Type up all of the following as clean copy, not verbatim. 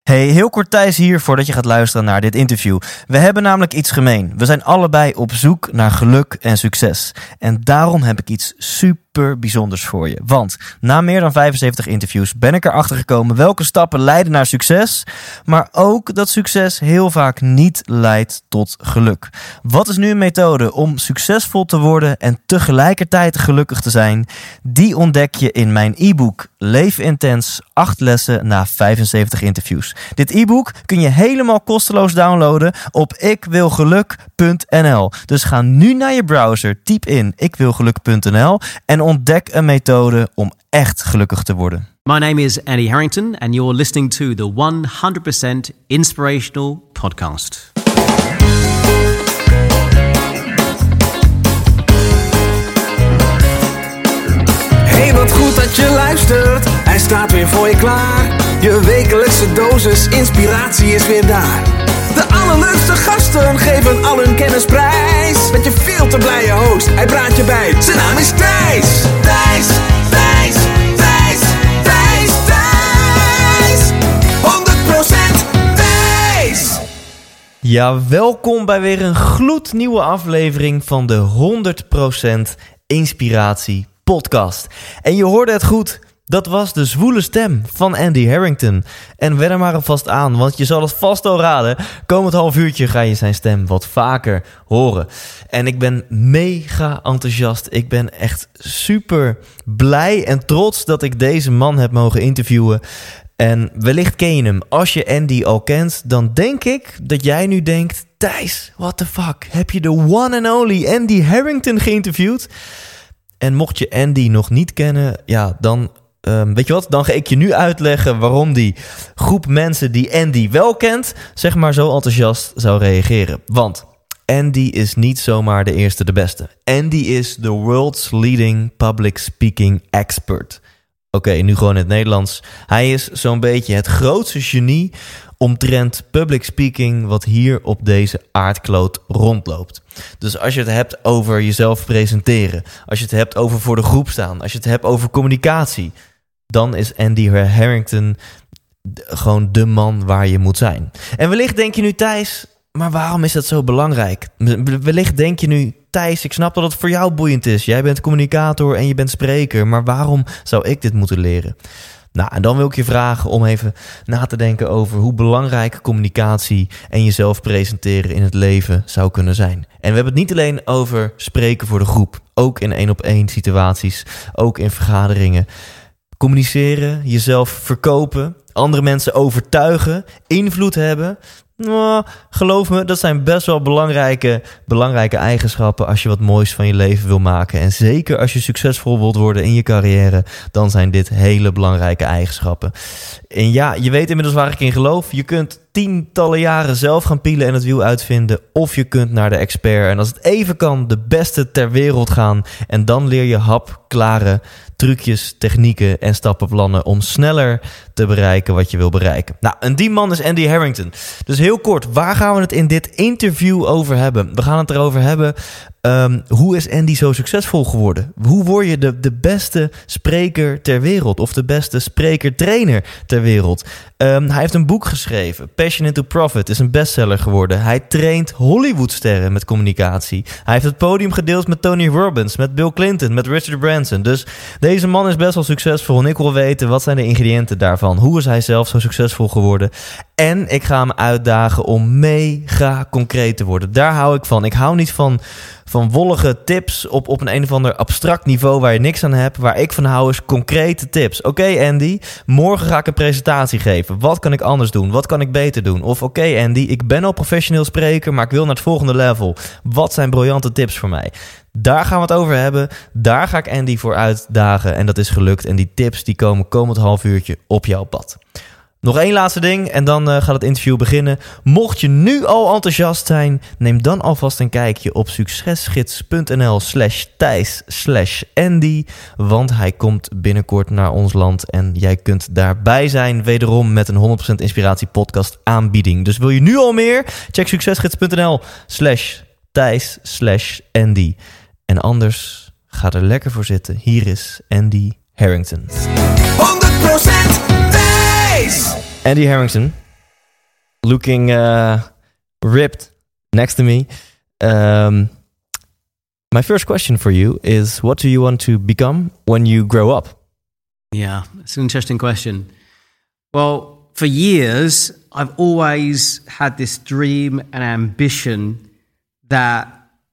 Hey, heel kort Thijs hier voordat je gaat luisteren naar dit interview. We hebben namelijk iets gemeen. We zijn allebei op zoek naar geluk en succes. En daarom heb ik iets super bijzonders voor je. Want na meer dan 75 interviews ben ik erachter gekomen welke stappen leiden naar succes. Maar ook dat succes heel vaak niet leidt tot geluk. Wat is nu een methode om succesvol te worden en tegelijkertijd gelukkig te zijn? Die ontdek je in mijn e-book Leef Intens, 8 lessen na 75 interviews. Dit e-book kun je helemaal kosteloos downloaden op ikwilgeluk.nl. Dus ga nu naar je browser, typ in ikwilgeluk.nl en ontdek een methode om echt gelukkig te worden. My name is Andy Harrington and you're listening to the 100% Inspirational Podcast. Hey, wat goed dat je luistert. Hij staat weer voor je klaar. Je wekelijkse dosis inspiratie is weer daar. De allerleukste gasten geven al hun kennis prijs. Met je veel te blije host, hij praat je bij. Zijn naam is Thijs. Thijs, Thijs, Thijs, Thijs, Thijs. 100% Thijs. Ja, welkom bij weer een gloednieuwe aflevering van de 100% Inspiratie Podcast. En je hoorde het goed. Dat was de zwoele stem van Andy Harrington. En wen er maar alvast aan, want je zal het vast al raden. Komend half uurtje ga je zijn stem wat vaker horen. En ik ben mega enthousiast. Ik ben echt super blij en trots dat ik deze man heb mogen interviewen. En wellicht ken je hem. Als je Andy al kent, dan denk ik dat jij nu denkt: Thijs, what the fuck? Heb je de one and only Andy Harrington geïnterviewd? En mocht je Andy nog niet kennen, ja, dan weet je wat? Dan ga ik je nu uitleggen waarom die groep mensen die Andy wel kent, zeg maar zo enthousiast zou reageren. Want Andy is niet zomaar de eerste de beste. Andy is the world's leading public speaking expert. Oké, nu gewoon in het Nederlands. Hij is zo'n beetje het grootste genie omtrent public speaking wat hier op deze aardkloot rondloopt. Dus als je het hebt over jezelf presenteren, als je het hebt over voor de groep staan, als je het hebt over communicatie, dan is Andy Harrington gewoon de man waar je moet zijn. En wellicht denk je nu: Thijs, maar waarom is dat zo belangrijk? Wellicht denk je nu: Thijs, ik snap dat het voor jou boeiend is. Jij bent communicator en je bent spreker, maar waarom zou ik dit moeten leren? Nou, en dan wil ik je vragen om even na te denken over hoe belangrijk communicatie en jezelf presenteren in het leven zou kunnen zijn. En we hebben het niet alleen over spreken voor de groep, ook in 1-op-1 situaties, ook in vergaderingen. Communiceren, jezelf verkopen, andere mensen overtuigen, invloed hebben. Nou, geloof me, dat zijn best wel belangrijke eigenschappen als je wat moois van je leven wil maken. En zeker als je succesvol wilt worden in je carrière, dan zijn dit hele belangrijke eigenschappen. En ja, je weet inmiddels waar ik in geloof. Je kunt tientallen jaren zelf gaan pielen en het wiel uitvinden, of je kunt naar de expert en als het even kan, de beste ter wereld gaan. En dan leer je hapklare trucjes, technieken en stappenplannen om sneller te bereiken wat je wil bereiken. Nou, en die man is Andy Harrington. Dus heel kort, waar gaan we het in dit interview over hebben? We gaan het erover hebben, hoe is Andy zo succesvol geworden? Hoe word je de beste spreker ter wereld of de beste sprekertrainer ter wereld? Hij heeft een boek geschreven, Passion into Profit, is een bestseller geworden. Hij traint Hollywoodsterren met communicatie. Hij heeft het podium gedeeld met Tony Robbins, met Bill Clinton, met Richard Branson. Dus deze man is best wel succesvol en ik wil weten, wat zijn de ingrediënten daarvan? Hoe is hij zelf zo succesvol geworden? En ik ga hem uitdagen om mega concreet te worden. Daar hou ik van. Ik hou niet van wollige tips op een of ander abstract niveau waar je niks aan hebt. Waar ik van hou is concrete tips. Oké, Andy, morgen ga ik een presentatie geven. Wat kan ik anders doen? Wat kan ik beter doen? Of oké, Andy, ik ben al professioneel spreker, maar ik wil naar het volgende level. Wat zijn briljante tips voor mij? Daar gaan we het over hebben. Daar ga ik Andy voor uitdagen en dat is gelukt. En die tips die komen komend half uurtje op jouw pad. Nog één laatste ding en dan gaat het interview beginnen. Mocht je nu al enthousiast zijn, neem dan alvast een kijkje op succesgids.nl/Thijs/Andy. Want hij komt binnenkort naar ons land en jij kunt daarbij zijn. Wederom met een 100% Inspiratie Podcast aanbieding. Dus wil je nu al meer? Check succesgids.nl/Thijs/Andy. En anders, ga er lekker voor zitten. Hier is Andy Harrington. 100% Thijs! Andy Harrington, looking ripped next to me. My first question for you is, what do you want to become when you grow up? Yeah, it's an interesting question. Well, for years, I've always had this dream and ambition that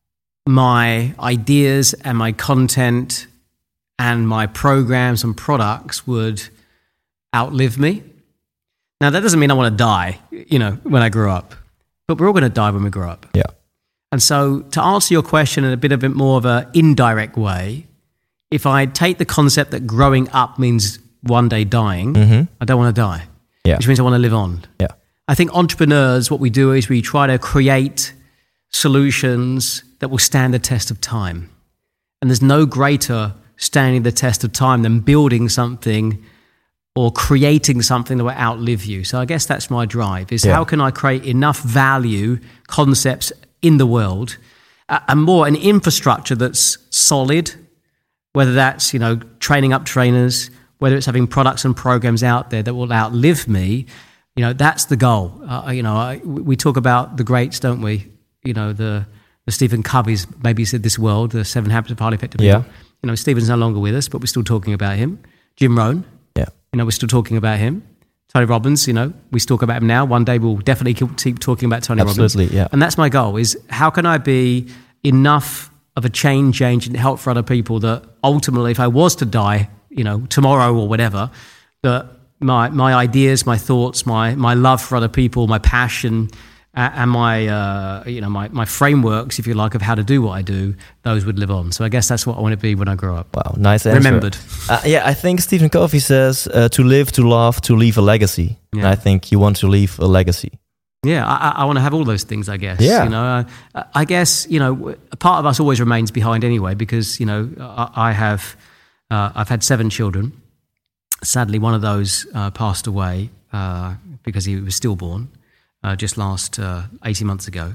my ideas and my content and my programs and products would outlive me. Now, that doesn't mean I want to die, when I grow up. But we're all going to die when we grow up. Yeah. And so to answer your question in a bit more of an indirect way, if I take the concept that growing up means one day dying, I don't want to die, which means I want to live on. Yeah. I think entrepreneurs, what we do is we try to create solutions that will stand the test of time. And there's no greater standing the test of time than building something or creating something that will outlive you. So I guess that's my drive, is how can I create enough value, concepts in the world, and more an infrastructure that's solid, whether that's, training up trainers, whether it's having products and programs out there that will outlive me, that's the goal. We talk about the greats, don't we? The Stephen Covey's maybe said this world, the 7 Habits of Highly Effective People. Stephen's no longer with us, but we're still talking about him. Jim Rohn, we're still talking about him. Tony Robbins, we talk about him now. One day we'll definitely keep talking about Tony Robbins. Absolutely, yeah. And that's my goal, is how can I be enough of a change agent and help for other people that ultimately, if I was to die, tomorrow or whatever, that my ideas, my thoughts, my love for other people, my passion, and my frameworks, if you like, of how to do what I do, those would live on. So I guess that's what I want to be when I grow up. Wow, nice answer. Remembered. I think Stephen Covey says to live, to love, to leave a legacy. Yeah. And I think you want to leave a legacy. Yeah, I want to have all those things, I guess. Yeah. I guess, a part of us always remains behind anyway, because, I've had 7 children. Sadly, one of those passed away because he was stillborn. Just last 18 months ago.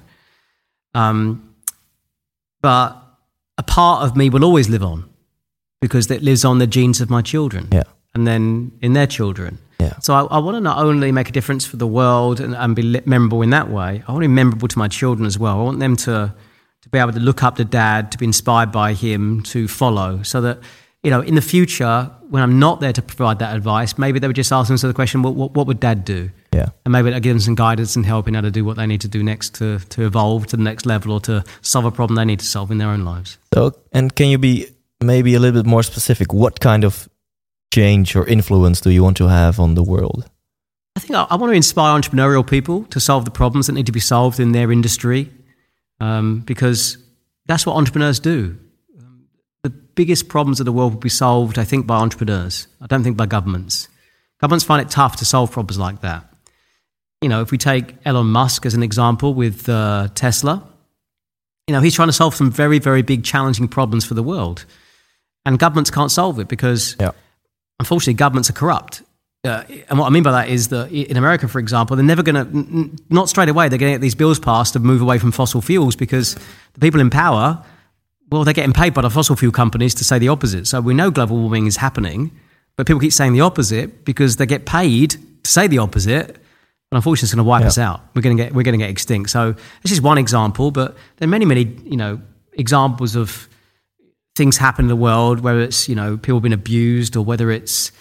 But a part of me will always live on, because it lives on the genes of my children and then in their children. Yeah. So I want to not only make a difference for the world and be memorable in that way, I want to be memorable to my children as well. I want them to be able to look up to Dad, to be inspired by him, to follow, so that, in the future, when I'm not there to provide that advice, maybe they would just ask themselves the question, what would Dad do? Yeah. And maybe I'd give them some guidance and help in how to do what they need to do next to evolve to the next level, or to solve a problem they need to solve in their own lives. So, and can you be maybe a little bit more specific? What kind of change or influence do you want to have on the world? I think I want to inspire entrepreneurial people to solve the problems that need to be solved in their industry, because that's what entrepreneurs do. The biggest problems of the world will be solved, I think, by entrepreneurs. I don't think by governments. Governments find it tough to solve problems like that. If we take Elon Musk as an example with Tesla, he's trying to solve some very, very big, challenging problems for the world. And governments can't solve it because, unfortunately, governments are corrupt. And what I mean by that is that in America, for example, they're never going to, not straight away, they're going to get these bills passed to move away from fossil fuels, because the people in power, well, they're getting paid by the fossil fuel companies to say the opposite. So we know global warming is happening, but people keep saying the opposite because they get paid to say the opposite. But unfortunately, it's going to wipe us out. We're going to get extinct. So this is one example, but there are many, many, examples of things happen in the world, whether it's, people being abused, or whether it's,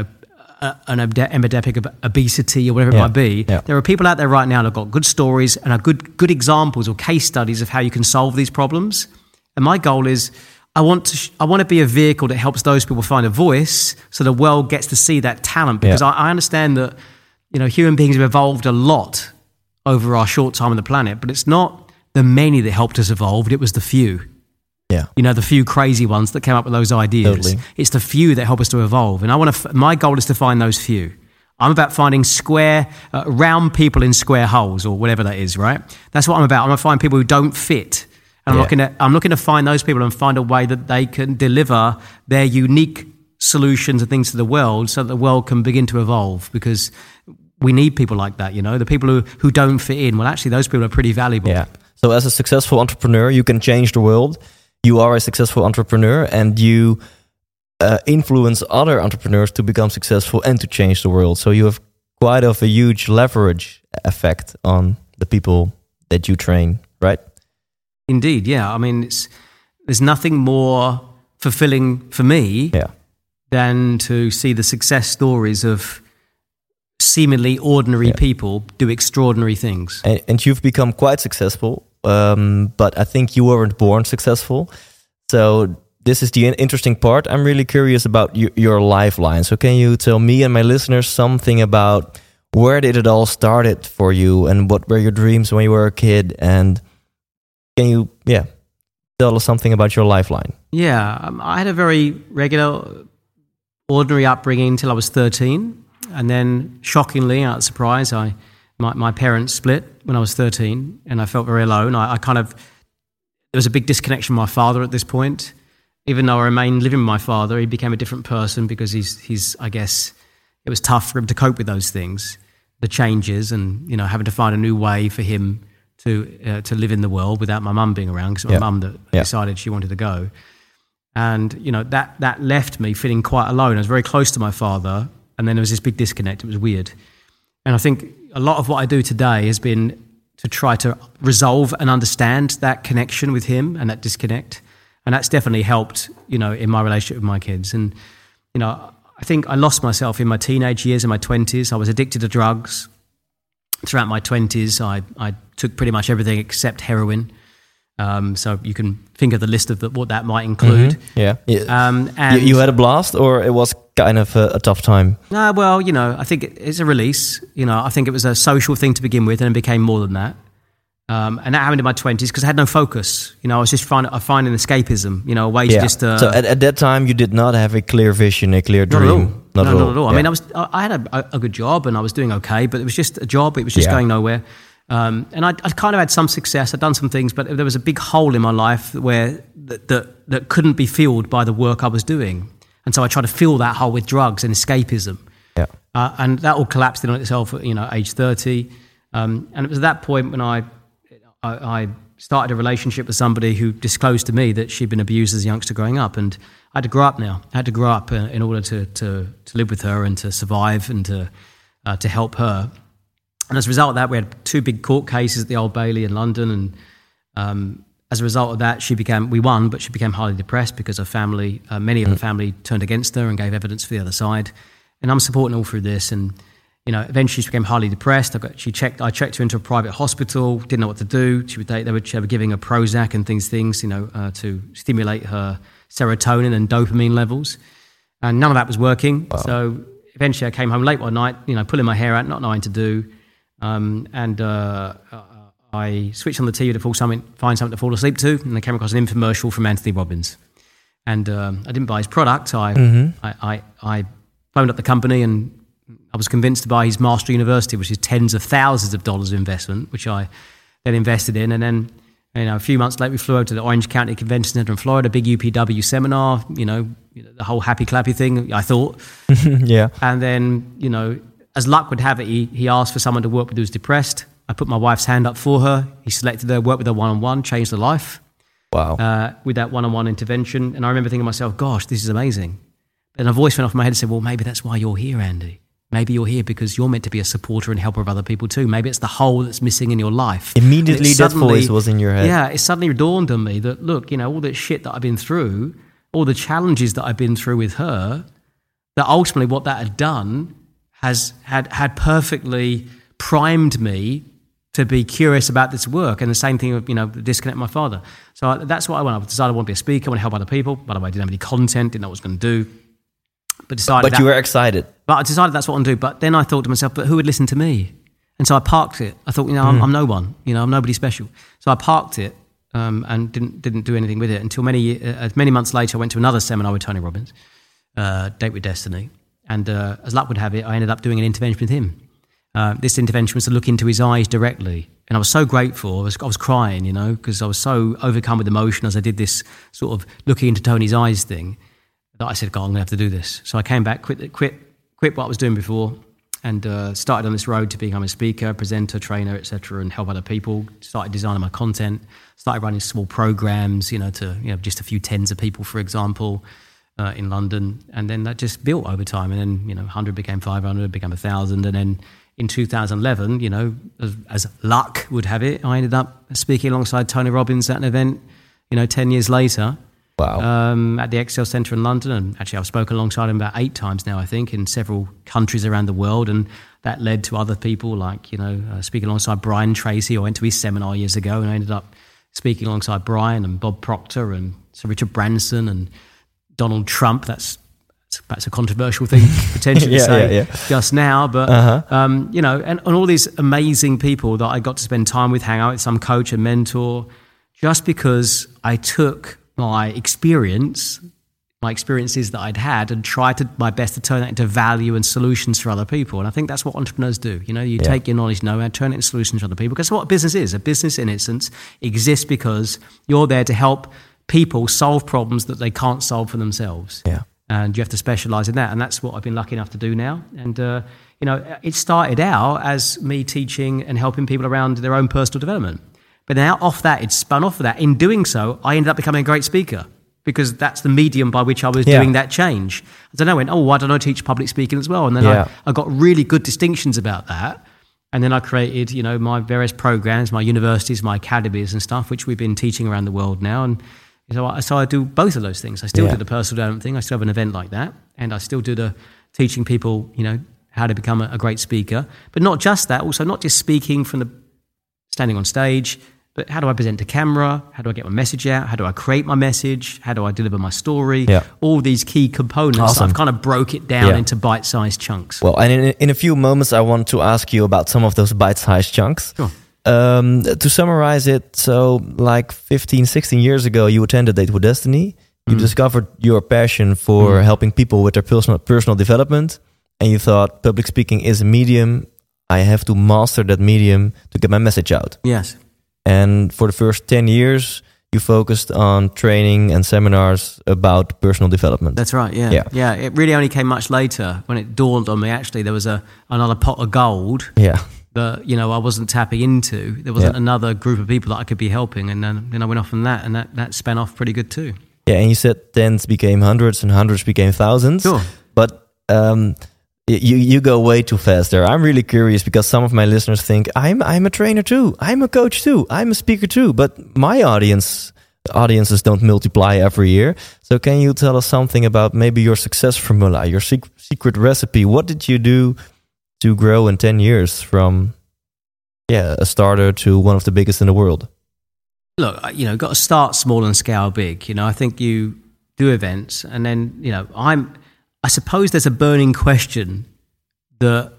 an epidemic of obesity, or whatever it might be. Yeah. There are people out there right now that have got good stories and are good examples or case studies of how you can solve these problems. And my goal is, I want to be a vehicle that helps those people find a voice, so the world gets to see that talent. Because I understand that, human beings have evolved a lot over our short time on the planet, but it's not the many that helped us evolve, it was the few. Yeah. The few crazy ones that came up with those ideas. Totally. It's the few that help us to evolve. And my goal is to find those few. I'm about finding round people in square holes, or whatever that is, right? That's what I'm about. I'm going to find people who don't fit. And I'm looking to find those people and find a way that they can deliver their unique solutions and things to the world, so that the world can begin to evolve, because we need people like that, the people who don't fit in. Well, actually, those people are pretty valuable. Yeah. So as a successful entrepreneur, you can change the world. You are a successful entrepreneur, and you influence other entrepreneurs to become successful and to change the world. So you have quite of a huge leverage effect on the people that you train, right? Indeed, yeah. I mean, there's nothing more fulfilling for me than to see the success stories of seemingly ordinary people do extraordinary things. And you've become quite successful, but I think you weren't born successful. So this is the interesting part. I'm really curious about your lifeline. So can you tell me and my listeners something about where did it all started for you, and what were your dreams when you were a kid? And can you, tell us something about your lifeline? Yeah, I had a very regular, ordinary upbringing until I was 13. And then, shockingly, out of surprise, my parents split when I was 13, and I felt very alone. There was a big disconnection with my father at this point. Even though I remained living with my father, he became a different person because he's I guess, it was tough for him to cope with those things, the changes, and having to find a new way for him to live in the world without my mum being around, because it was my mum that decided she wanted to go. And that left me feeling quite alone. I was very close to my father, and then there was this big disconnect. It was weird. And I think a lot of what I do today has been to try to resolve and understand that connection with him and that disconnect. And that's definitely helped, in my relationship with my kids. And, I think I lost myself in my teenage years, in my 20s. I was addicted to drugs. Throughout my 20s, I took pretty much everything except heroin. So you can think of the list of what that might include. Mm-hmm. And you had a blast, or it was kind of a tough time? Well, I think it's a release. I think it was a social thing to begin with, and it became more than that. And that happened in my 20s because I had no focus. I was just finding escapism, a way to just... So at that time, you did not have a clear vision, a clear dream? Not at all. I mean, I had a good job and I was doing okay, but it was just a job. It was just going nowhere. And I kind of had some success. I'd done some things, but there was a big hole in my life where that couldn't be filled by the work I was doing. And so I tried to fill that hole with drugs and escapism. Yeah. And that all collapsed in on itself at age 30. And it was at that point when I started a relationship with somebody who disclosed to me that she'd been abused as a youngster growing up. And I had to grow up now. I had to grow up in order to live with her and to survive and to help her. And as a result of that, we had 2 big court cases at the Old Bailey in London. And as a result of that, we won, but she became highly depressed because her family, many of her family turned against her and gave evidence for the other side. And I'm supporting all through this. And, eventually she became highly depressed. I checked her into a private hospital, didn't know what to do. They were giving her Prozac and things, to stimulate her serotonin and dopamine levels. And none of that was working. Wow. So eventually I came home late one night, pulling my hair out, not knowing what to do. I switched on the TV to find something to fall asleep to, and I came across an infomercial from Anthony Robbins. And I didn't buy his product. I phoned up the company, and I was convinced to buy his Master University, which is tens of thousands of dollars of investment, which I then invested in. And then, a few months later, we flew over to the Orange County Convention Center in Florida, big UPW seminar, the whole happy clappy thing, I thought. Yeah. And then, as luck would have it, he asked for someone to work with who was depressed. I put my wife's hand up for her. He selected her, worked with her one-on-one, changed her life. Wow. With that one-on-one intervention. And I remember thinking to myself, gosh, this is amazing. And a voice went off in my head and said, well, maybe that's why you're here, Andy. Maybe you're here because you're meant to be a supporter and helper of other people too. Maybe it's the hole that's missing in your life. Immediately that voice was in your head. Yeah, it suddenly dawned on me that, look, all the shit that I've been through, all the challenges that I've been through with her, that ultimately what that had done had perfectly primed me to be curious about this work. And the same thing with, the disconnect with my father. So that's what I wanted. I decided I want to be a speaker, I want to help other people. By the way, I didn't have any content, didn't know what I was going to do. But you were excited. But I decided that's what I want to do. But then I thought to myself, but who would listen to me? And so I parked it. I thought, I'm no one. I'm nobody special. So I parked it and didn't do anything with it until many months later. I went to another seminar with Tony Robbins, Date with Destiny. And as luck would have it, I ended up doing an intervention with him. This intervention was to look into his eyes directly. And I was so grateful. I was crying, because I was so overcome with emotion as I did this sort of looking into Tony's eyes thing, that I said, God, I'm going to have to do this. So I came back, quit what I was doing before, and started on this road to become a speaker, presenter, trainer, etc., and help other people. Started designing my content. Started running small programs, to just a few tens of people, for example. in London, and then that just built over time. And then 100 became 500, became 1,000, and then in 2011, as luck would have it, I ended up speaking alongside Tony Robbins at an event, 10 years later. Wow. At the Excel Centre in London. And actually, I've spoken alongside him about 8 times now, I think, in several countries around the world. And that led to other people like, speaking alongside Brian Tracy. I went to his seminar years ago, and I ended up speaking alongside Brian and Bob Proctor and Sir Richard Branson and Donald Trump. That's a controversial thing potentially to say just now. But, and all these amazing people that I got to spend time with, hang out with, some coach and mentor, just because I took my experiences that I'd had and tried my best to turn that into value and solutions for other people. And I think that's what entrepreneurs do. You take your knowledge, know-how, turn it into solutions for other people. Because that's what a business is. A business, in essence, exists because you're there to help people solve problems that they can't solve for themselves. Yeah. And you have to specialize in that. And that's what I've been lucky enough to do now. And, it started out as me teaching and helping people around their own personal development. But now it spun off of that. In doing so, I ended up becoming a great speaker because that's the medium by which I was doing that change. And then I went, why don't I teach public speaking as well? And then I got really good distinctions about that. And then I created, my various programs, my universities, my academies and stuff, which we've been teaching around the world now. And so I do both of those things. I still do the personal development thing. I still have an event like that. And I still do the teaching people, how to become a great speaker. But not just that, also not just speaking from the standing on stage, but how do I present to camera? How do I get my message out? How do I create my message? How do I deliver my story? Yeah. All these key components. Awesome. I've kind of broke it down into bite-sized chunks. Well, and in a few moments, I want to ask you about some of those bite-sized chunks. Sure. To summarize it, so like 15, 16 years ago, you attended Date with Destiny. You discovered your passion for helping people with their personal development. And you thought, public speaking is a medium. I have to master that medium to get my message out. Yes. And for the first 10 years, you focused on training and seminars about personal development. That's right, yeah. It really only came much later when it dawned on me, actually, there was another pot of gold that, I wasn't tapping into. There wasn't another group of people that I could be helping. And then I went off on that, and that span off pretty good too. Yeah, and you said tens became hundreds and hundreds became thousands. Sure. But you go way too fast there. I'm really curious because some of my listeners think I'm a trainer too, I'm a coach too, I'm a speaker too. But my audiences don't multiply every year. So can you tell us something about maybe your success formula, your secret recipe? What did you do to grow in 10 years from a starter to one of the biggest in the world? Look, got to start small and scale big. I think you do events, and then I suppose there's a burning question that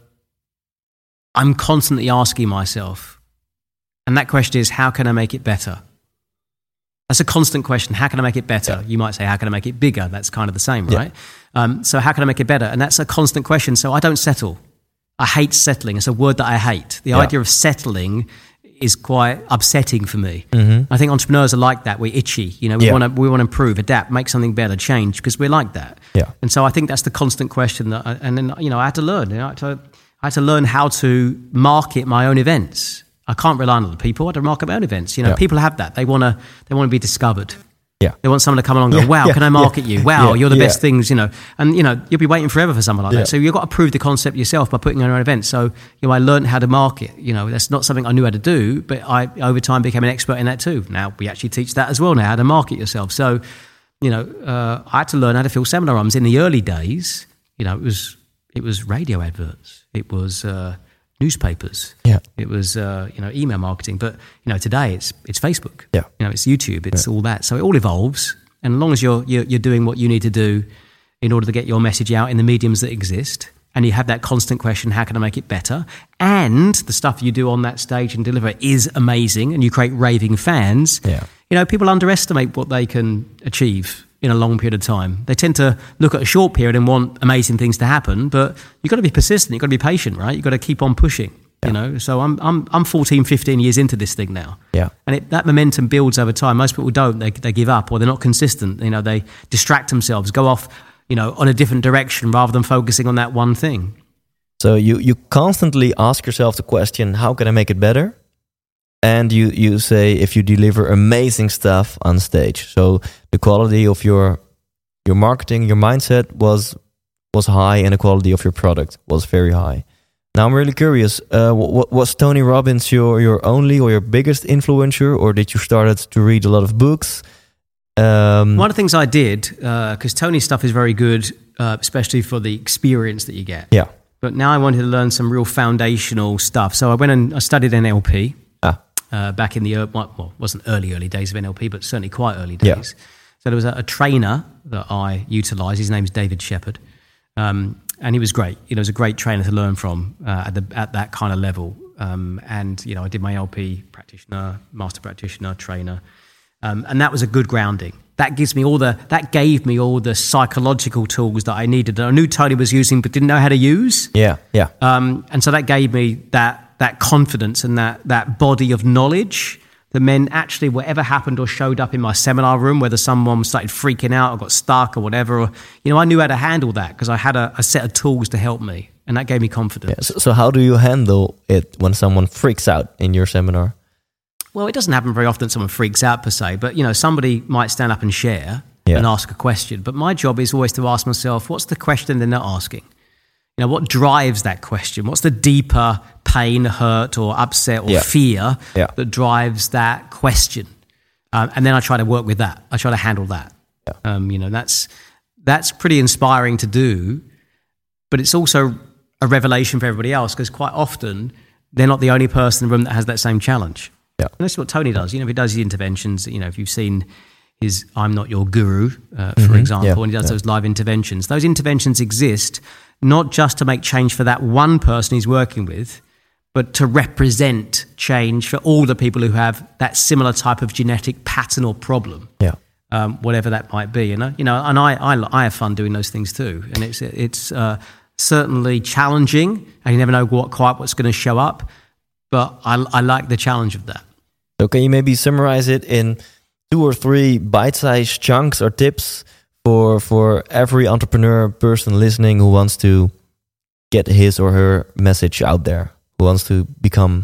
I'm constantly asking myself. And that question is, how can I make it better? That's a constant question. How can I make it better? Yeah. You might say, how can I make it bigger? That's kind of the same, right? So how can I make it better? And that's a constant question. So I don't settle. I hate settling. It's a word that I hate. The idea of settling is quite upsetting for me. I think entrepreneurs are like that. We're itchy. We want to improve, adapt, make something better, change, because we're like that. Yeah. And so I think that's the constant question that, I had to learn. I had to learn how to market my own events. I can't rely on other people. I had to market my own events. People have that. They want to be discovered. Yeah. They want someone to come along and go, wow, can I market you? Wow, you're the best things, And, you'll be waiting forever for someone like that. So you've got to prove the concept yourself by putting on your own event. So, I learned how to market. That's not something I knew how to do, but I, over time, became an expert in that too. Now, we actually teach that as well now, how to market yourself. So, I had to learn how to fill seminar rooms. In the early days, it was radio adverts. It was newspapers. Yeah. It was email marketing. But today it's Facebook. Yeah. It's YouTube. It's all that. So it all evolves. And as long as you're doing what you need to do in order to get your message out in the mediums that exist, and you have that constant question, how can I make it better? And the stuff you do on that stage and deliver is amazing, and you create raving fans. Yeah. People underestimate what they can achieve in a long period of time. They tend to look at a short period and want amazing things to happen, but you've got to be persistent, you've got to be patient, right? You've got to keep on pushing, So I'm 14, 15 years into this thing now. Yeah. And that momentum builds over time. Most people don't, they give up, or they're not consistent. They distract themselves, go off, on a different direction rather than focusing on that one thing. So you constantly ask yourself the question, how can I make it better? And you say if you deliver amazing stuff on stage. So the quality of your your marketing, your mindset was high, and the quality of your product was very high. Now I'm really curious. Was Tony Robbins your only or your biggest influencer, or did you started to read a lot of books? One of the things I did, because Tony's stuff is very good, especially for the experience that you get. Yeah. But now I wanted to learn some real foundational stuff. So I went and I studied NLP back in the, wasn't early days of NLP, but certainly quite early days. Yeah. So there was a trainer that I utilised. His name's David Shepherd. And he was great. He was a great trainer to learn from at that kind of level. And, I did my NLP practitioner, master practitioner, trainer. And that was a good grounding. That gave me all the psychological tools that I needed, that I knew Tony was using but didn't know how to use. Yeah. And so that gave me that confidence and that body of knowledge that meant actually whatever happened or showed up in my seminar room, whether someone started freaking out or got stuck or whatever, or, I knew how to handle that because I had a set of tools to help me, and that gave me confidence. Yeah. So how do you handle it when someone freaks out in your seminar? Well, it doesn't happen very often someone freaks out per se, but, somebody might stand up and share and ask a question. But my job is always to ask myself, what's the question they're not asking? What drives that question? What's the deeper pain, hurt, or upset, or fear that drives that question? And then I try to work with that. I try to handle that. Yeah. That's pretty inspiring to do, but it's also a revelation for everybody else because quite often they're not the only person in the room that has that same challenge. Yeah. And that's what Tony does. If he does his interventions, if you've seen his I'm Not Your Guru, for example, and he does those live interventions. Those interventions exist not just to make change for that one person he's working with, but to represent change for all the people who have that similar type of genetic pattern or problem, whatever that might be. And I have fun doing those things too. And it's certainly challenging, and you never know what's going to show up. But I like the challenge of that. So can you maybe summarize it in 2 or 3 bite-sized chunks or tips for every entrepreneur person listening who wants to get his or her message out there, who wants to become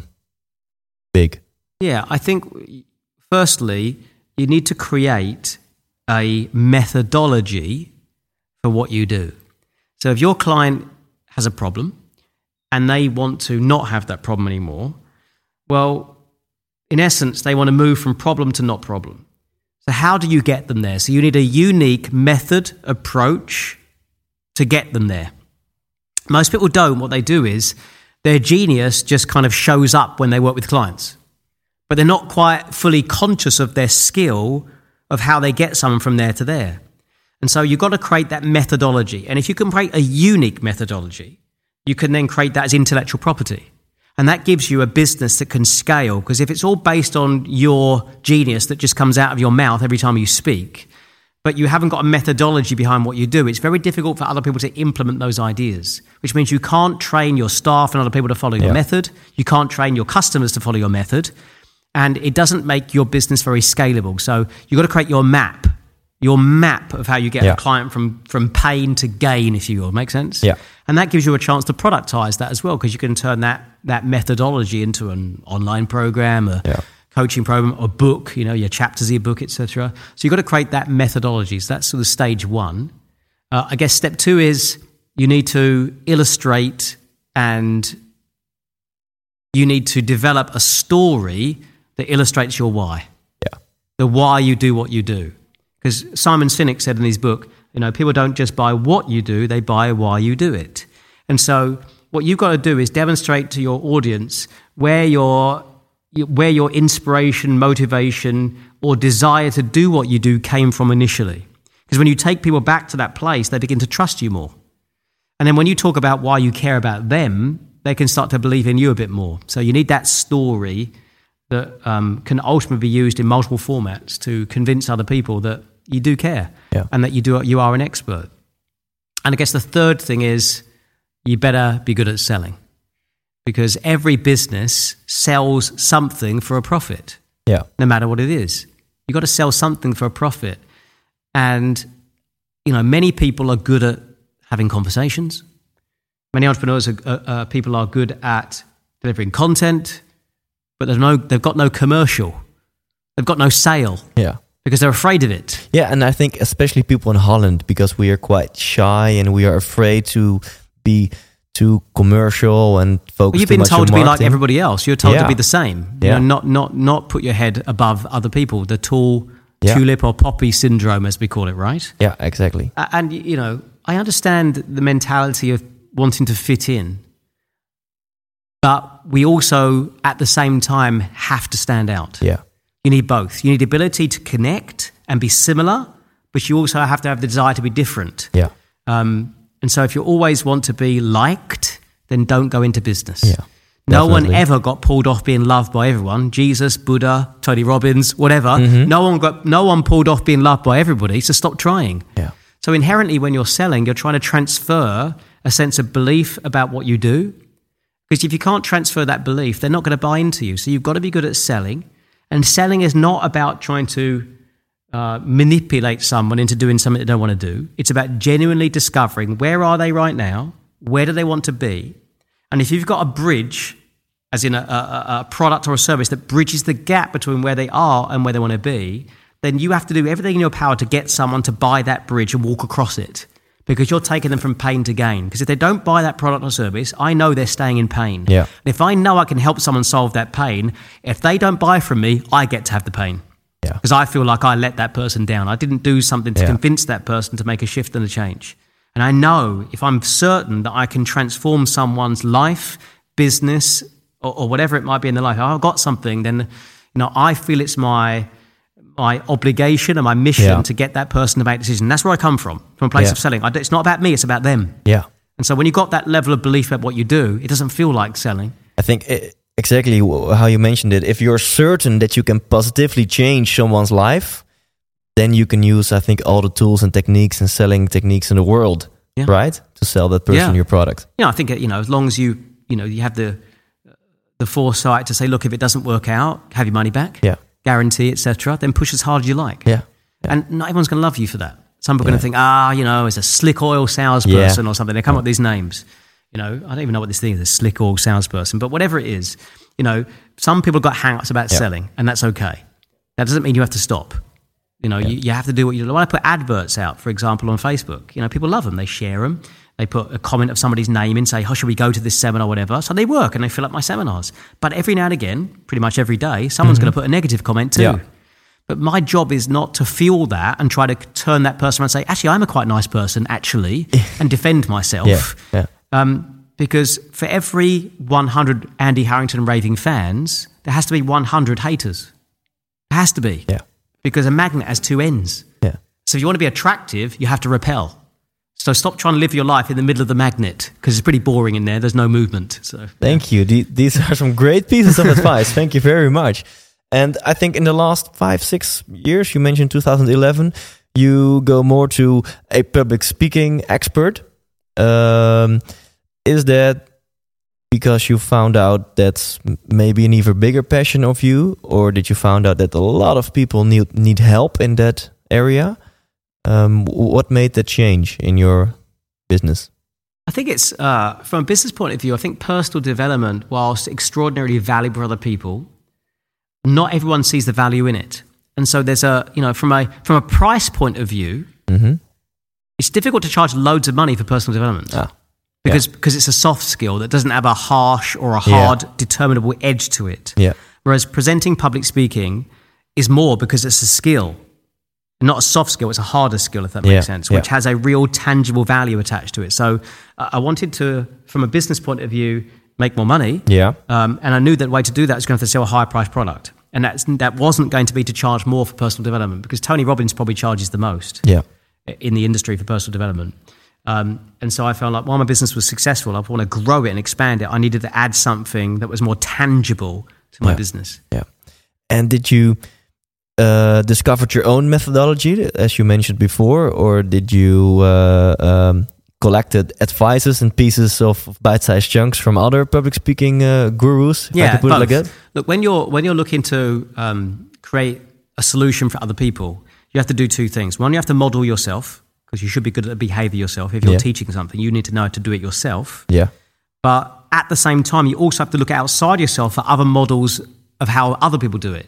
big? Yeah, I think firstly, you need to create a methodology for what you do. So if your client has a problem and they want to not have that problem anymore, well, in essence, they want to move from problem to not problem. So how do you get them there? So you need a unique method, approach to get them there. Most people don't. What they do is their genius just kind of shows up when they work with clients, but they're not quite fully conscious of their skill of how they get someone from there to there. And so you've got to create that methodology. And if you can create a unique methodology, you can then create that as intellectual property. And that gives you a business that can scale, because if it's all based on your genius that just comes out of your mouth every time you speak, but you haven't got a methodology behind what you do, it's very difficult for other people to implement those ideas, which means you can't train your staff and other people to follow your method. You can't train your customers to follow your method. And it doesn't make your business very scalable. So you've got to create your map of how you get a client from pain to gain, if you will. Make sense? Yeah. And that gives you a chance to productize that as well, because you can turn that methodology into an online program, a coaching program, a book, your chapters of your book, etc. So you've got to create that methodology. So that's sort of stage 1. I guess step 2 is you need to illustrate and you need to develop a story that illustrates your why. Yeah. The why you do what you do. Because Simon Sinek said in his book, people don't just buy what you do, they buy why you do it. And so what you've got to do is demonstrate to your audience where your inspiration, motivation, or desire to do what you do came from initially. Because when you take people back to that place, they begin to trust you more. And then when you talk about why you care about them, they can start to believe in you a bit more. So you need that story that can ultimately be used in multiple formats to convince other people that you do care and that you are an expert. And I guess the third thing is you better be good at selling, because every business sells something for a profit, no matter what it is. You've got to sell something for a profit. And, many people are good at having conversations. Many entrepreneurs, people are good at delivering content, but they've got no commercial. They've got no sale. Yeah. because they're afraid of it. Yeah, and I think especially people in Holland, because we are quite shy and we are afraid to be too commercial and focus You've too been much told on to be like marketing. everybody else. You're told Yeah. to be the same. Yeah. You know, not put your head above other people. The tall Yeah. tulip or poppy syndrome, as we call it, right? Yeah, exactly. And, you know, I understand the mentality of wanting to fit in. But we also, at the same time, have to stand out. Yeah. You need both. You need the ability to connect and be similar, but you also have to have the desire to be different. Yeah. And so if you always want to be liked, then don't go into business. Yeah, No one definitely. ever got pulled off being loved by everyone. Jesus, Buddha, Tony Robbins, whatever. Mm-hmm. No one pulled off being loved by everybody, so stop trying. Yeah. So inherently when you're selling, you're trying to transfer a sense of belief about what you do. Because if you can't transfer that belief, they're not going to buy into you. So you've got to be good at selling. And selling is not about trying to manipulate someone into doing something they don't want to do. It's about genuinely discovering where are they right now, where do they want to be. And if you've got a bridge, as in a product or a service that bridges the gap between where they are and where they want to be, then you have to do everything in your power to get someone to buy that bridge and walk across it. Because you're taking them from pain to gain. Because if they don't buy that product or service, I know they're staying in pain. Yeah. And if I know I can help someone solve that pain, if they don't buy from me, I get to have the pain. Yeah. Because I feel like I let that person down. I didn't do something to Yeah. convince that person to make a shift and a change. And I know if I'm certain that I can transform someone's life, business, or whatever it might be in their life, if I've got something, then I feel it's my obligation and my mission Yeah. to get that person to make a decision. That's where I come from a place Yeah. of selling. It's not about me, it's about them. Yeah. And so when you've got that level of belief about what you do, it doesn't feel like selling. I think exactly how you mentioned it. If you're certain that you can positively change someone's life, then you can use, I think, all the tools and techniques and selling techniques in the world, Yeah. right? To sell that person Yeah. your product. I think, as long as you have the foresight to say, look, if it doesn't work out, have your money back, Yeah. guarantee, etc., then push as hard as you like. Yeah. And not everyone's going to love you for that. Some people are Yeah. going to think, it's a slick oil salesperson or something. They come up with these names. I don't even know what this thing is, a slick oil salesperson. But whatever it is, some people got hang-ups about selling, and that's okay. That doesn't mean you have to stop. You have to do what you do. When I put adverts out, for example, on Facebook, people love them. They share them. They put a comment of somebody's name in, say, should we go to this seminar or whatever? So they work and they fill up my seminars. But every now and again, pretty much every day, someone's going to put a negative comment too. Yeah. But my job is not to fuel that and try to turn that person around and say, actually, I'm a quite nice person, actually, and defend myself. Yeah. Because for every 100 Andy Harrington raving fans, there has to be 100 haters. There has to be. Yeah. Because a magnet has two ends. Yeah. So if you want to be attractive, you have to repel. So stop trying to live your life in the middle of the magnet, because it's pretty boring in there. There's no movement. So Thank you. These are some great pieces of advice. Thank you very much. And I think in the last 5-6 years, you mentioned 2011, you go more to a public speaking expert. Is that because you found out that's maybe an even bigger passion of you, or did you find out that a lot of people need help in that area? What made that change in your business? I think it's, from a business point of view, I think personal development, whilst extraordinarily valuable for other people, not everyone sees the value in it. And so there's from a price point of view, it's difficult to charge loads of money for personal development. Because it's a soft skill that doesn't have a harsh or a hard, determinable edge to it. Yeah. Whereas presenting public speaking is more because it's a skill. Not a soft skill, it's a harder skill, if that makes sense, which has a real tangible value attached to it. So I wanted to, from a business point of view, make more money. Yeah. And I knew that the way to do that was going to have to sell a higher price product. And that wasn't going to be to charge more for personal development, because Tony Robbins probably charges the most in the industry for personal development. And so I felt like while my business was successful, I want to grow it and expand it. I needed to add something that was more tangible to my business. Yeah. And did you discovered your own methodology, as you mentioned before, or did you collected advices and pieces of bite-sized chunks from other public speaking gurus? If I could put it like that. Look, when you're looking to create a solution for other people, you have to do two things. One, you have to model yourself, because you should be good at the behavior yourself. If you're teaching something, you need to know how to do it yourself. Yeah. But at the same time, you also have to look outside yourself for other models of how other people do it.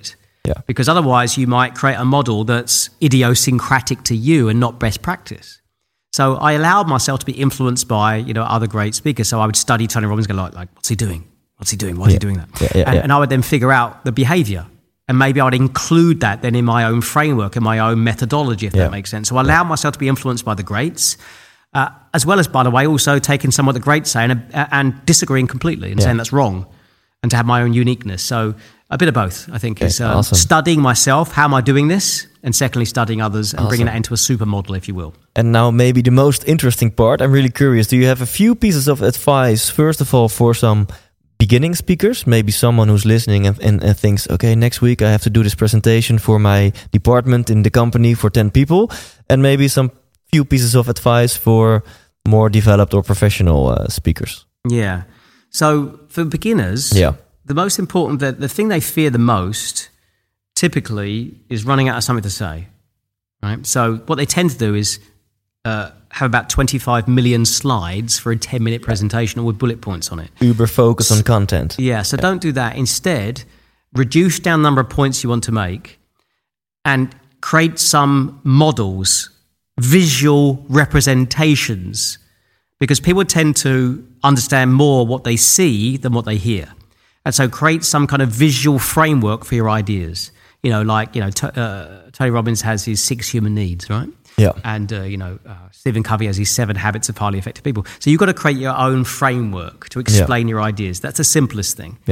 Yeah. Because otherwise you might create a model that's idiosyncratic to you and not best practice. So I allowed myself to be influenced by, other great speakers. So I would study Tony Robbins and go like, what's he doing? What's he doing? Why is he doing that? And I would then figure out the behavior. And maybe I would include that then in my own framework, in my own methodology, if that makes sense. So I allowed myself to be influenced by the greats, as well as, by the way, also taking some of the greats say and disagreeing completely and saying that's wrong, and to have my own uniqueness. So a bit of both, I think, is awesome. Studying myself, how am I doing this? And secondly, studying others and bringing that into a supermodel, if you will. And now maybe the most interesting part, I'm really curious. Do you have a few pieces of advice, first of all, for some beginning speakers? Maybe someone who's listening and thinks, okay, next week I have to do this presentation for my department in the company for 10 people. And maybe some few pieces of advice for more developed or professional speakers. Yeah. So for beginners, the most important, the thing they fear the most typically is running out of something to say, right? So what they tend to do is have about 25 million slides for a 10-minute presentation with bullet points on it. Uber focus on content. Yeah, so don't do that. Instead, reduce down the number of points you want to make and create some models, visual representations, because people tend to understand more what they see than what they hear. And so create some kind of visual framework for your ideas. Tony Robbins has his 6 human needs, right? Yeah. And, Stephen Covey has his 7 habits of highly effective people. So you've got to create your own framework to explain your ideas. That's the simplest thing. Yeah.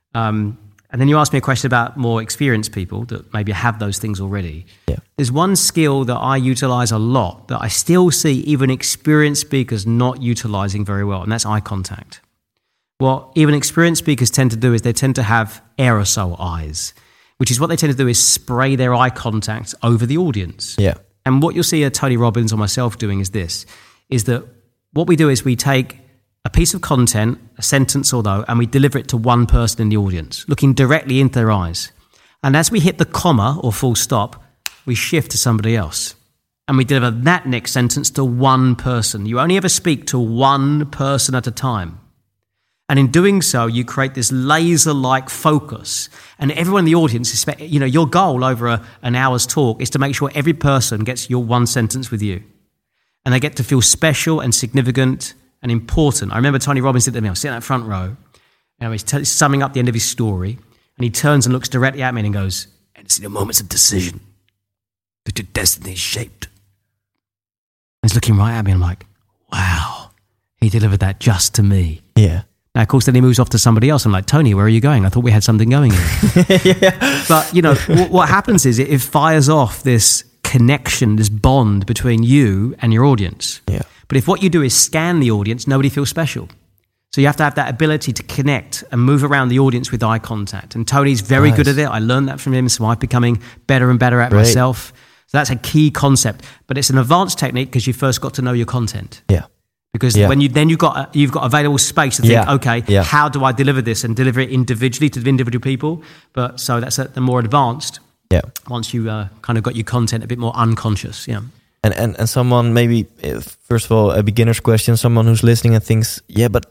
And then you asked me a question about more experienced people that maybe have those things already. Yeah. There's one skill that I utilize a lot that I still see even experienced speakers not utilizing very well, and that's eye contact. What even experienced speakers tend to do is they tend to have aerosol eyes, which is what they tend to do is spray their eye contact over the audience. Yeah. And what you'll see Tony Robbins or myself doing is that what we do is we take a piece of content, a sentence or though, and we deliver it to one person in the audience, looking directly into their eyes. And as we hit the comma or full stop, we shift to somebody else. And we deliver that next sentence to one person. You only ever speak to one person at a time. And in doing so, you create this laser-like focus. And everyone in the audience, your goal over an hour's talk is to make sure every person gets your one sentence with you. And they get to feel special and significant and important. I remember Tony Robbins did that. I was sitting in that front row, and he's summing up the end of his story, and he turns and looks directly at me and goes, "And it's in the moments of decision that your destiny is shaped." And he's looking right at me, and I'm like, wow, he delivered that just to me. Yeah. Now, of course, then he moves off to somebody else. I'm like, Tony, where are you going? I thought we had something going here. But, what happens is it fires off this connection, this bond between you and your audience. Yeah. But if what you do is scan the audience, nobody feels special. So you have to have that ability to connect and move around the audience with eye contact. And Tony's very good at it. I learned that from him, so I'm becoming better and better at myself. So that's a key concept. But it's an advanced technique because you first got to know your content. Yeah. Because when you've got available space to think, how do I deliver this and deliver it individually to individual people? But so that's the more advanced. Yeah. Once you kind of got your content a bit more unconscious. Yeah. And someone maybe, first of all, a beginner's question, someone who's listening and thinks, but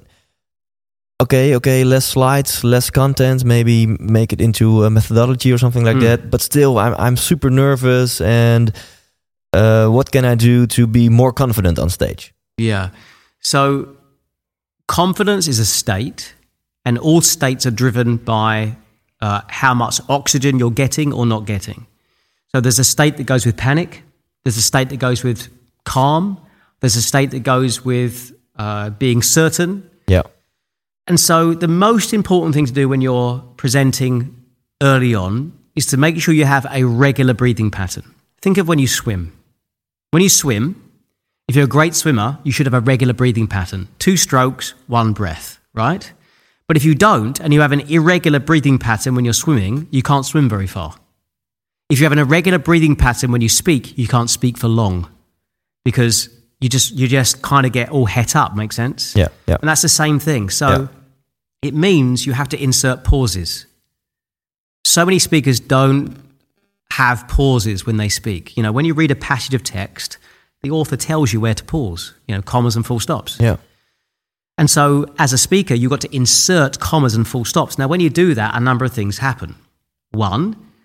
okay, less slides, less content, maybe make it into a methodology or something like that. But still, I'm super nervous. And what can I do to be more confident on stage? Yeah. So confidence is a state, and all states are driven by how much oxygen you're getting or not getting. So there's a state that goes with panic. There's a state that goes with calm. There's a state that goes with being certain. Yeah. And so the most important thing to do when you're presenting early on is to make sure you have a regular breathing pattern. Think of when you swim. When you swim, if you're a great swimmer, you should have a regular breathing pattern. 2 strokes, 1 breath, right? But if you don't, and you have an irregular breathing pattern when you're swimming, you can't swim very far. If you have an irregular breathing pattern when you speak, you can't speak for long because you just kind of get all het up, makes sense? Yeah. And that's the same thing. So it means you have to insert pauses. So many speakers don't have pauses when they speak. When you read a passage of text, the author tells you where to pause, commas and full stops. Yeah. And so as a speaker, you've got to insert commas and full stops. Now, when you do that, a number of things happen. One,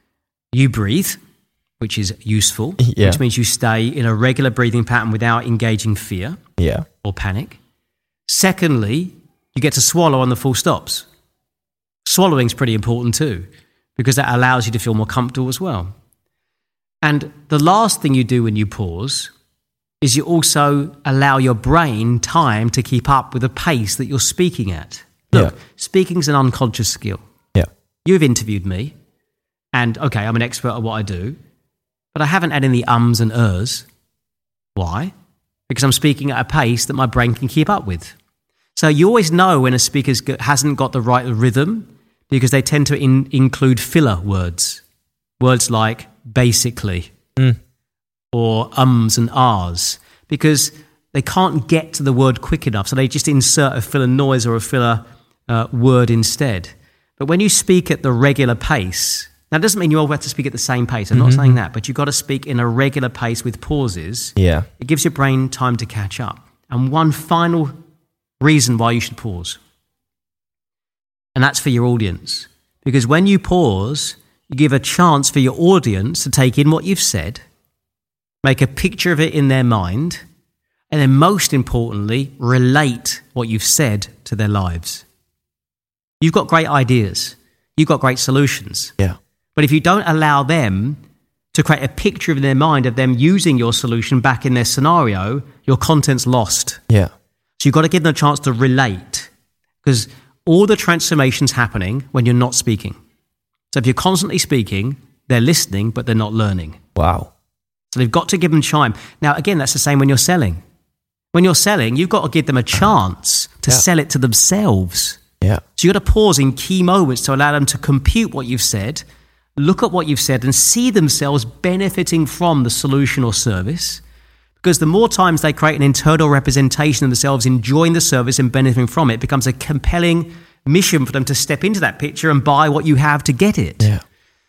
You breathe, which is useful, Yeah. which means you stay in a regular breathing pattern without engaging fear Yeah. or panic. Secondly, you get to swallow on the full stops. Swallowing is pretty important too, because that allows you to feel more comfortable as well. And the last thing you do when you pause is you also allow your brain time to keep up with the pace that you're speaking at. Look, speaking is an unconscious skill. Yeah. You've interviewed me, and okay, I'm an expert at what I do, but I haven't had any ums and ers. Why? Because I'm speaking at a pace that my brain can keep up with. So you always know when a speaker hasn't got the right rhythm, because they tend to include filler words. Words like basically or ums and ahs, because they can't get to the word quick enough. So they just insert a filler noise or a filler word instead. But when you speak at the regular pace, now it doesn't mean you all have to speak at the same pace. I'm not saying that, but you've got to speak in a regular pace with pauses. Yeah. It gives your brain time to catch up. And one final reason why you should pause, and that's for your audience. Because when you pause, you give a chance for your audience to take in what you've said, make a picture of it in their mind, and then most importantly, relate what you've said to their lives. You've got great ideas. You've got great solutions. Yeah. But if you don't allow them to create a picture in their mind of them using your solution back in their scenario, your content's lost. Yeah. So you've got to give them a chance to relate, because all the transformation's happening when you're not speaking. So if you're constantly speaking, they're listening, but they're not learning. Wow. So they've got to give them time. Now, again, that's the same when you're selling. When you're selling, you've got to give them a chance to sell it to themselves. Yeah. So you've got to pause in key moments to allow them to compute what you've said, look at what you've said, and see themselves benefiting from the solution or service. Because the more times they create an internal representation of themselves enjoying the service and benefiting from it, it becomes a compelling mission for them to step into that picture and buy what you have to get it. Yeah.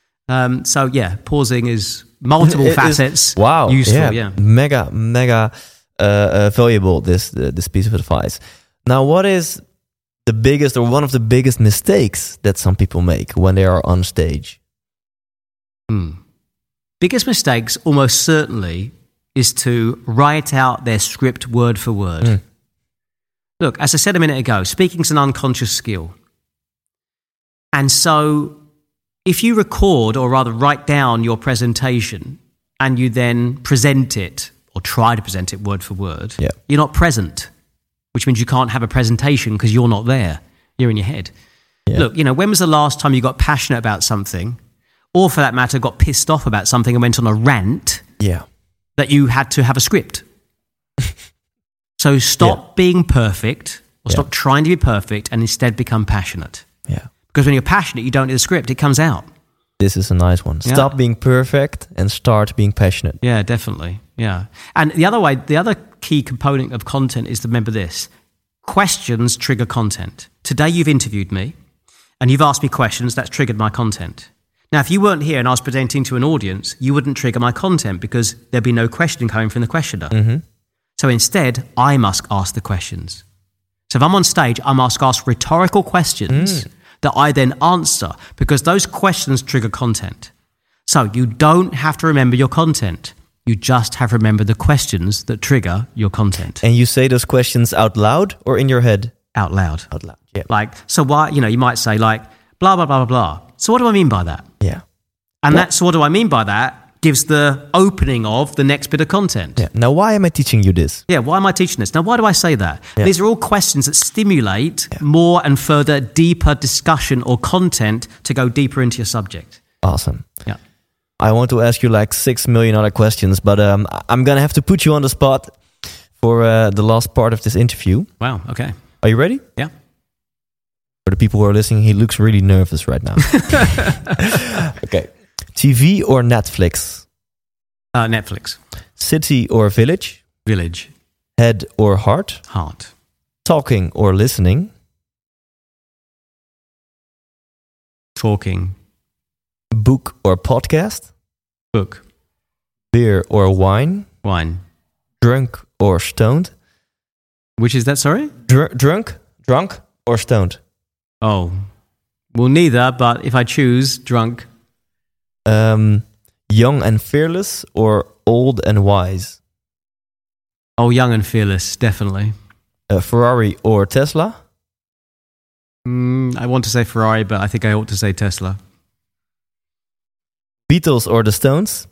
Pausing is multiple facets. Wow. Useful, yeah. Mega valuable, this piece of advice. Now, what is the biggest or one of the biggest mistakes that some people make when they are on stage? Biggest mistakes, almost certainly, is to write out their script word for word. Look, as I said a minute ago, speaking is an unconscious skill. And so if you record, or rather write down your presentation, and you then present it, or try to present it word for word, you're not present, which means you can't have a presentation because you're not there. You're in your head. Yeah. Look, when was the last time you got passionate about something, or for that matter, got pissed off about something and went on a rant that you had to have a script? So stop being perfect, or stop trying to be perfect, and instead become passionate. Yeah. Because when you're passionate, you don't need a script. It comes out. This is a nice one. Stop being perfect and start being passionate. Yeah, definitely. Yeah. And the other key component of content is to remember this. Questions trigger content. Today you've interviewed me and you've asked me questions. That's triggered my content. Now, if you weren't here and I was presenting to an audience, you wouldn't trigger my content because there'd be no question coming from the questioner. Mm-hmm. So instead, I must ask the questions. So if I'm on stage, I must ask rhetorical questions that I then answer, because those questions trigger content. So you don't have to remember your content. You just have to remember the questions that trigger your content. And you say those questions out loud or in your head? Out loud. Out loud, yeah. Like, so why, you might say like, blah, blah, blah, blah, blah. So what do I mean by that? Yeah. And that's what do I mean by that gives the opening of the next bit of content. Yeah. Now, why am I teaching you this? Yeah, why am I teaching this? Now, why do I say that? Yeah. These are all questions that stimulate more and further deeper discussion or content to go deeper into your subject. Awesome. Yeah. I want to ask you like 6 million other questions, but I'm going to have to put you on the spot for the last part of this interview. Wow, okay. Are you ready? Yeah. For the people who are listening, he looks really nervous right now. Okay. TV or Netflix? Netflix. City or village? Village. Head or heart? Heart. Talking or listening? Talking. Book or podcast? Book. Beer or wine? Wine. Drunk or stoned? Which is that, sorry? Drunk or stoned? Oh, well, neither, but if I choose drunk. Young and fearless or old and wise? Oh, young and fearless, definitely. Ferrari or Tesla? I want to say Ferrari, but I think I ought to say Tesla. Beatles or the Stones?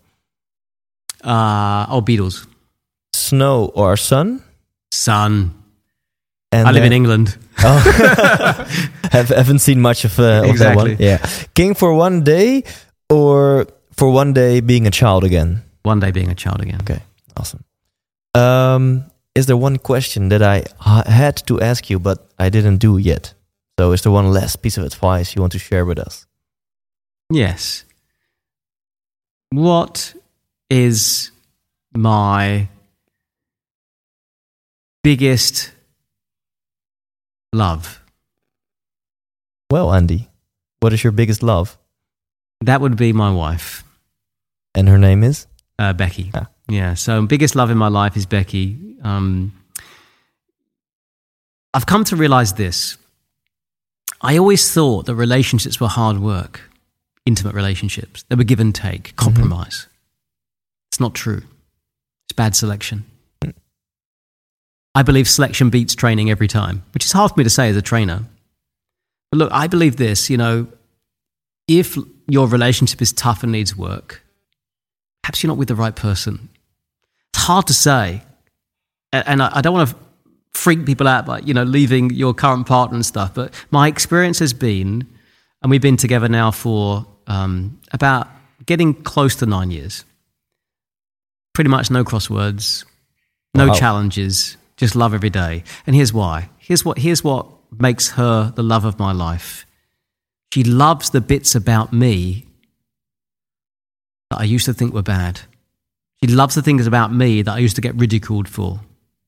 Beatles. Snow or sun? Sun. And I live in England. Haven't seen much of exactly. that one. Yeah. King for one day or for one day being a child again? One day being a child again. Okay, awesome. Is there one question that I had to ask you, but I didn't do yet? So is there one last piece of advice you want to share with us? Yes. What is my biggest love? Well, Andy, what is your biggest love? That would be my wife. And her name is? Becky. Ah. Yeah, so biggest love in my life is Becky. I've come to realize this. I always thought that relationships were hard work, intimate relationships. They were give and take, compromise. It's not true. It's bad selection. I believe selection beats training every time, which is hard for me to say as a trainer. But look, I believe this, if your relationship is tough and needs work, perhaps you're not with the right person. It's hard to say. And I don't want to freak people out by, leaving your current partner and stuff. But my experience has been, and we've been together now for about getting close to 9 years. Pretty much no crosswords, no challenges, just love every day. And here's why. Here's what makes her the love of my life. She loves the bits about me that I used to think were bad. She loves the things about me that I used to get ridiculed for.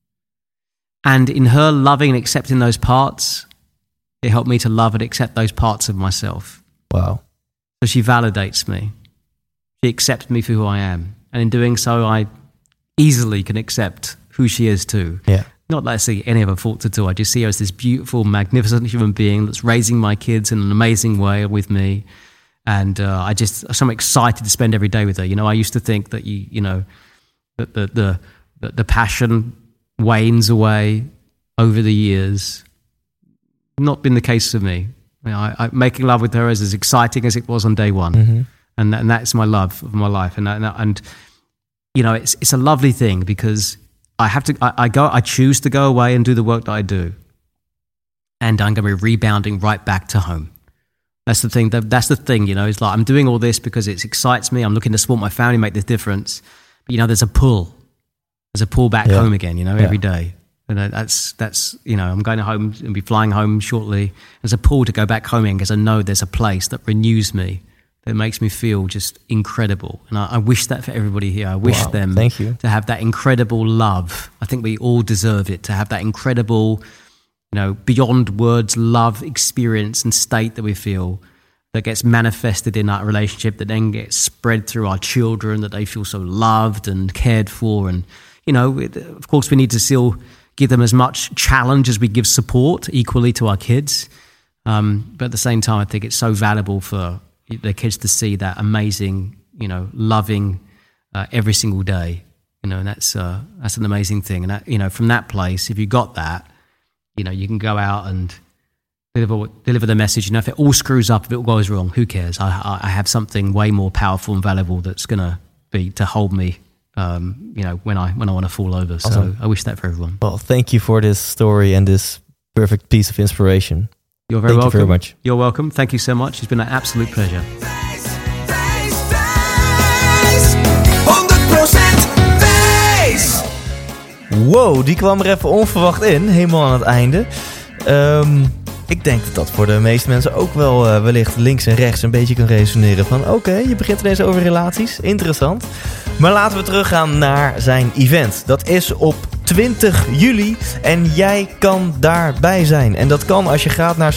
And in her loving and accepting those parts, it helped me to love and accept those parts of myself. Wow. So she validates me. She accepts me for who I am. And in doing so, I easily can accept who she is too. Yeah. Not that I see any of her faults at all. I just see her as this beautiful, magnificent human being that's raising my kids in an amazing way with me. And I'm excited to spend every day with her. I used to think that that the passion wanes away over the years. Not been the case for me. Making love with her is as exciting as it was on day one, and that's my love of my life. And it's a lovely thing because I choose to go away and do the work that I do, and I'm going to be rebounding right back to home. That's the thing. That's the thing. It's like I'm doing all this because it excites me. I'm looking to support my family, make this difference. But there's a pull. There's a pull back home again. Every day. And that's I'm going home and be flying home shortly. There's a pull to go back home again because I know there's a place that renews me, that makes me feel just incredible. And I wish that for everybody here. I wish them to have that incredible love. I think we all deserve it, to have that incredible, beyond words love experience and state that we feel that gets manifested in our relationship, that then gets spread through our children, that they feel so loved and cared for. And, of course, we need to still give them as much challenge as we give support equally to our kids. But at the same time, I think it's so valuable for their kids to see that amazing, loving every single day, and that's an amazing thing. And that, from that place, if you got that, you can go out and deliver the message. If it all screws up, if it all goes wrong, who cares? I have something way more powerful and valuable that's going to be to hold me, when I want to fall over. Awesome. So I wish that for everyone. Well, thank you for this story and this perfect piece of inspiration. You're very welcome. Thank you very much. You're welcome. Thank you so much. It's been an absolute pleasure. 100% wijs. Wow, die kwam er even onverwacht in, helemaal aan het einde. Ik denk dat voor de meeste mensen ook wel wellicht links en rechts een beetje kan resoneren van oké, je begint ineens over relaties, interessant. Maar laten we teruggaan naar zijn event. Dat is op 20 juli en jij kan daarbij zijn. En dat kan als je gaat naar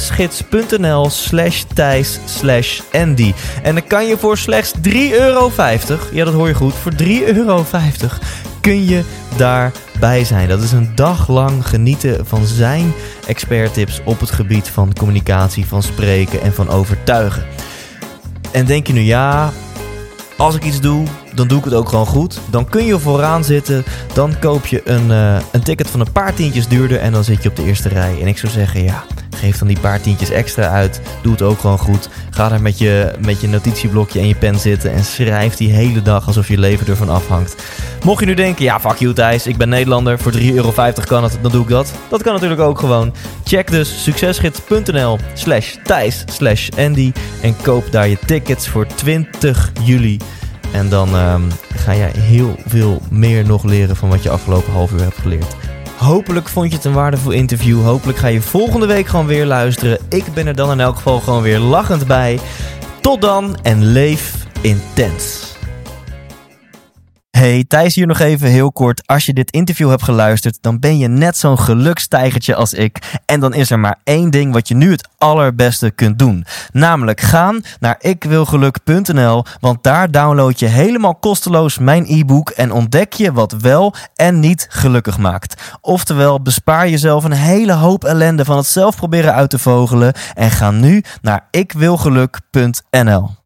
succesgids.nl/Thijs/Andy. En dan kan je voor slechts €3,50, ja dat hoor je goed, voor €3,50 kun je daarbij zijn. Dat is een dag lang genieten van zijn experttips op het gebied van communicatie, van spreken en van overtuigen. En denk je nu, ja, als ik iets doe, dan doe ik het ook gewoon goed. Dan kun je vooraan zitten. Dan koop je een ticket van een paar tientjes duurder en dan zit je op de eerste rij. En ik zou zeggen, ja, geef dan die paar tientjes extra uit. Doe het ook gewoon goed. Ga daar met je notitieblokje en je pen zitten en schrijf die hele dag alsof je leven ervan afhangt. Mocht je nu denken, ja, fuck you Thijs, ik ben Nederlander, voor €3,50 kan het, dan doe ik dat. Dat kan natuurlijk ook gewoon. Check dus succesgids.nl/Thijs/Andy en koop daar je tickets voor 20 juli. En dan ga jij heel veel meer nog leren van wat je afgelopen half uur hebt geleerd. Hopelijk vond je het een waardevol interview. Hopelijk ga je volgende week gewoon weer luisteren. Ik ben er dan in elk geval gewoon weer lachend bij. Tot dan en leef intens. Hey, Thijs hier nog even heel kort. Als je dit interview hebt geluisterd, dan ben je net zo'n gelukstijgertje als ik. En dan is er maar één ding wat je nu het allerbeste kunt doen. Namelijk gaan naar ikwilgeluk.nl, want daar download je helemaal kosteloos mijn e-book en ontdek je wat wel en niet gelukkig maakt. Oftewel, bespaar jezelf een hele hoop ellende van het zelf proberen uit te vogelen en ga nu naar ikwilgeluk.nl.